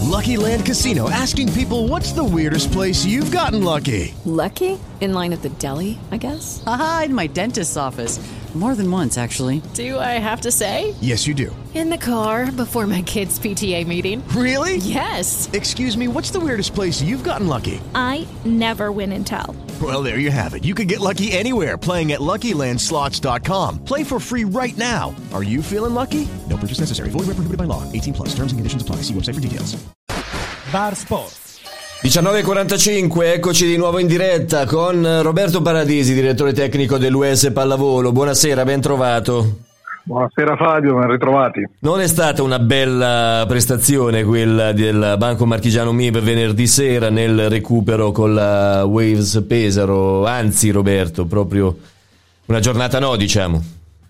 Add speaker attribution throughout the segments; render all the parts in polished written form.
Speaker 1: Lucky Land Casino, asking people, what's the weirdest place you've gotten lucky?
Speaker 2: Lucky? In line at the deli, I guess?
Speaker 3: Aha, in my dentist's office. More than once, actually.
Speaker 2: Do I have to say?
Speaker 1: Yes, you do.
Speaker 2: In the car before my kids' PTA meeting.
Speaker 1: Really?
Speaker 2: Yes.
Speaker 1: Excuse me, what's the weirdest place you've gotten lucky?
Speaker 4: I never win and tell.
Speaker 1: Well, there you have it. You can get lucky anywhere, playing at LuckyLandSlots.com. Play for free right now. Are you feeling lucky? No purchase necessary. Void where prohibited by law. 18+. Terms and conditions apply. See website for details.
Speaker 5: Bar Sport.
Speaker 6: 19:45, eccoci di nuovo in diretta con Roberto Paradisi, direttore tecnico dell'US Pallavolo. Buonasera, ben trovato.
Speaker 7: Buonasera Fabio, ben ritrovati.
Speaker 6: Non è stata una bella prestazione quella del Banco Marchigiano MIB venerdì sera nel recupero con la Waves Pesaro, anzi Roberto, proprio una giornata no, diciamo.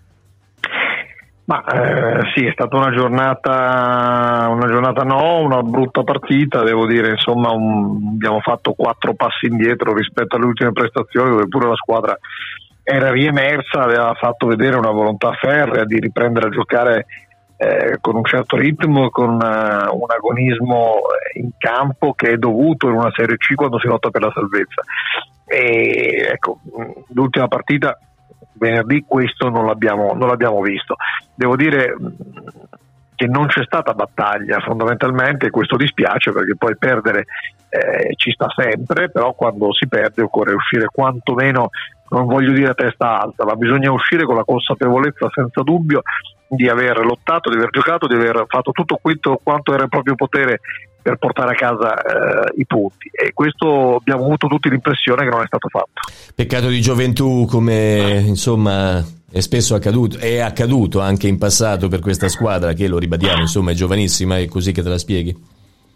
Speaker 7: Ma sì, è stata una giornata no, una brutta partita, devo dire, insomma abbiamo fatto 4 passi indietro rispetto alle ultime prestazioni, dove pure la squadra era riemersa, aveva fatto vedere una volontà ferrea di riprendere a giocare con un certo ritmo, con un agonismo in campo che è dovuto in una Serie C quando si lotta per la salvezza. E ecco, l'ultima partita venerdì questo non l'abbiamo visto. Devo dire che non c'è stata battaglia fondamentalmente, e questo dispiace perché poi perdere ci sta sempre, però quando si perde occorre uscire quantomeno, non voglio dire a testa alta, ma bisogna uscire con la consapevolezza senza dubbio di aver lottato, di aver giocato, di aver fatto tutto quanto era il proprio potere per portare a casa i punti, e questo abbiamo avuto tutti l'impressione che non è stato fatto.
Speaker 6: Peccato di gioventù, come insomma è spesso accaduto, è accaduto anche in passato per questa squadra che, lo ribadiamo, insomma è giovanissima, è così che te la spieghi?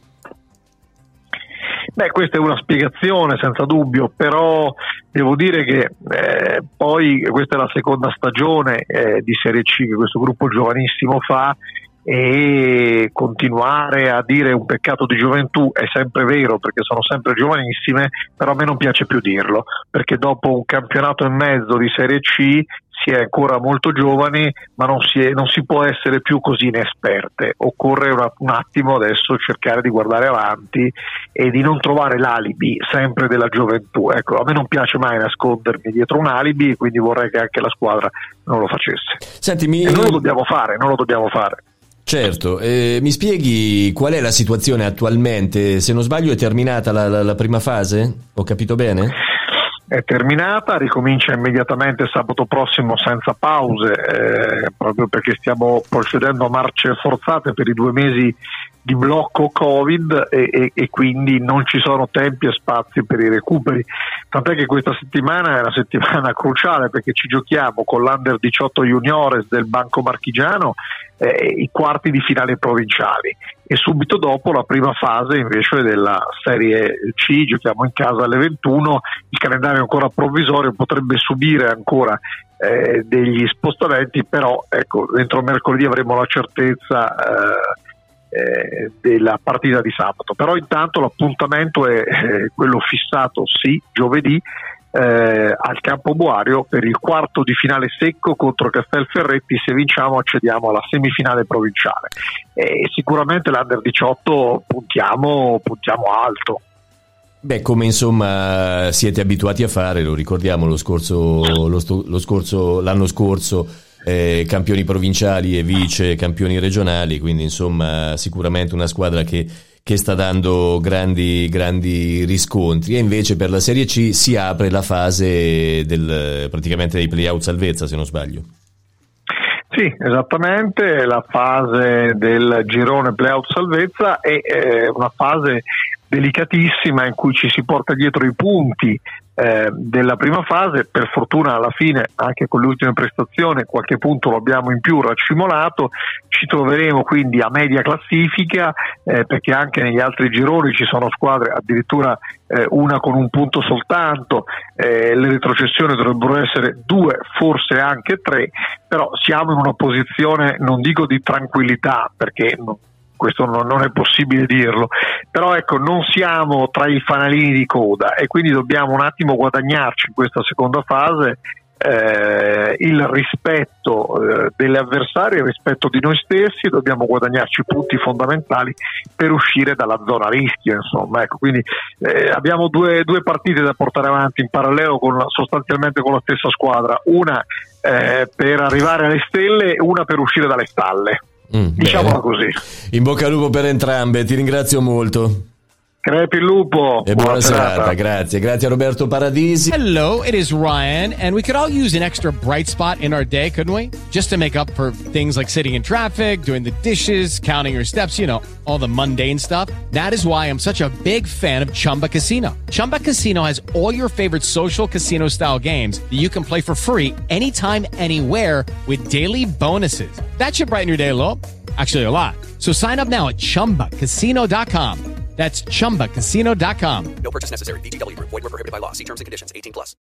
Speaker 7: Beh, questa è una spiegazione senza dubbio, però devo dire che poi questa è la seconda stagione di Serie C che questo gruppo giovanissimo fa, e continuare a dire un peccato di gioventù è sempre vero perché sono sempre giovanissime, però a me non piace più dirlo, perché dopo un campionato e mezzo di Serie C si è ancora molto giovani, ma non si può essere più così inesperte. Occorre un attimo adesso cercare di guardare avanti e di non trovare l'alibi sempre della gioventù. Ecco, a me non piace mai nascondermi dietro un alibi, e quindi vorrei che anche la squadra non lo facesse.
Speaker 6: Senti,
Speaker 7: e non lo dobbiamo fare.
Speaker 6: Certo, mi spieghi qual è la situazione attualmente? Se non sbaglio è terminata la prima fase? Ho capito bene?
Speaker 7: È terminata, ricomincia immediatamente sabato prossimo senza pause, proprio perché stiamo procedendo a marce forzate per i 2 mesi di blocco Covid e quindi non ci sono tempi e spazi per i recuperi, tant'è che questa settimana è una settimana cruciale perché ci giochiamo con l'Under 18 Juniores del Banco Marchigiano i quarti di finale provinciali, e subito dopo la prima fase invece della Serie C, giochiamo in casa alle 21. Il calendario è ancora provvisorio, potrebbe subire ancora degli spostamenti, però ecco, entro mercoledì avremo la certezza della partita di sabato. Però intanto l'appuntamento è quello fissato, sì, giovedì al Campo Boario per il quarto di finale secco contro Castelferretti. Se vinciamo accediamo alla semifinale provinciale, e sicuramente l'Under 18 puntiamo alto.
Speaker 6: Beh, come insomma siete abituati a fare, lo ricordiamo l'anno scorso, campioni provinciali e vice campioni regionali, quindi insomma sicuramente una squadra che sta dando grandi riscontri. E invece per la Serie C si apre la fase praticamente dei play-out salvezza, se non sbaglio.
Speaker 7: Sì, esattamente, la fase del girone play-out salvezza è una fase delicatissima in cui ci si porta dietro i punti della prima fase. Per fortuna alla fine, anche con le ultime prestazioni, qualche punto lo abbiamo in più racimolato. Ci troveremo quindi a media classifica, perché anche negli altri gironi ci sono squadre addirittura una con un punto soltanto, le retrocessioni dovrebbero essere 2, forse anche 3, però siamo in una posizione, non dico di tranquillità, perché questo non è possibile dirlo, però ecco, non siamo tra i fanalini di coda, e quindi dobbiamo un attimo guadagnarci in questa seconda fase il rispetto delle avversarie, il rispetto di noi stessi, dobbiamo guadagnarci punti fondamentali per uscire dalla zona rischio, insomma, ecco, quindi abbiamo due partite da portare avanti in parallelo sostanzialmente con la stessa squadra, una per arrivare alle stelle e una per uscire dalle stalle, diciamola così.
Speaker 6: In bocca al lupo per entrambe, ti ringrazio molto.
Speaker 7: Crepi il lupo
Speaker 6: e buona serata. Grazie a Roberto Paradisi.
Speaker 5: Hello, it is Ryan, and we could all use an extra bright spot in our day, couldn't we? Just to make up for things like sitting in traffic, doing the dishes, counting your steps, you know, all the mundane stuff. That is why I'm such a big fan of Chumba Casino. Chumba Casino has all your favorite social casino style games that you can play for free anytime, anywhere with daily bonuses. That should brighten your day a little. Actually, a lot. So sign up now at ChumbaCasino.com. That's ChumbaCasino.com.
Speaker 8: No purchase necessary. VGW Group. Void where prohibited by law. See terms and conditions. 18+.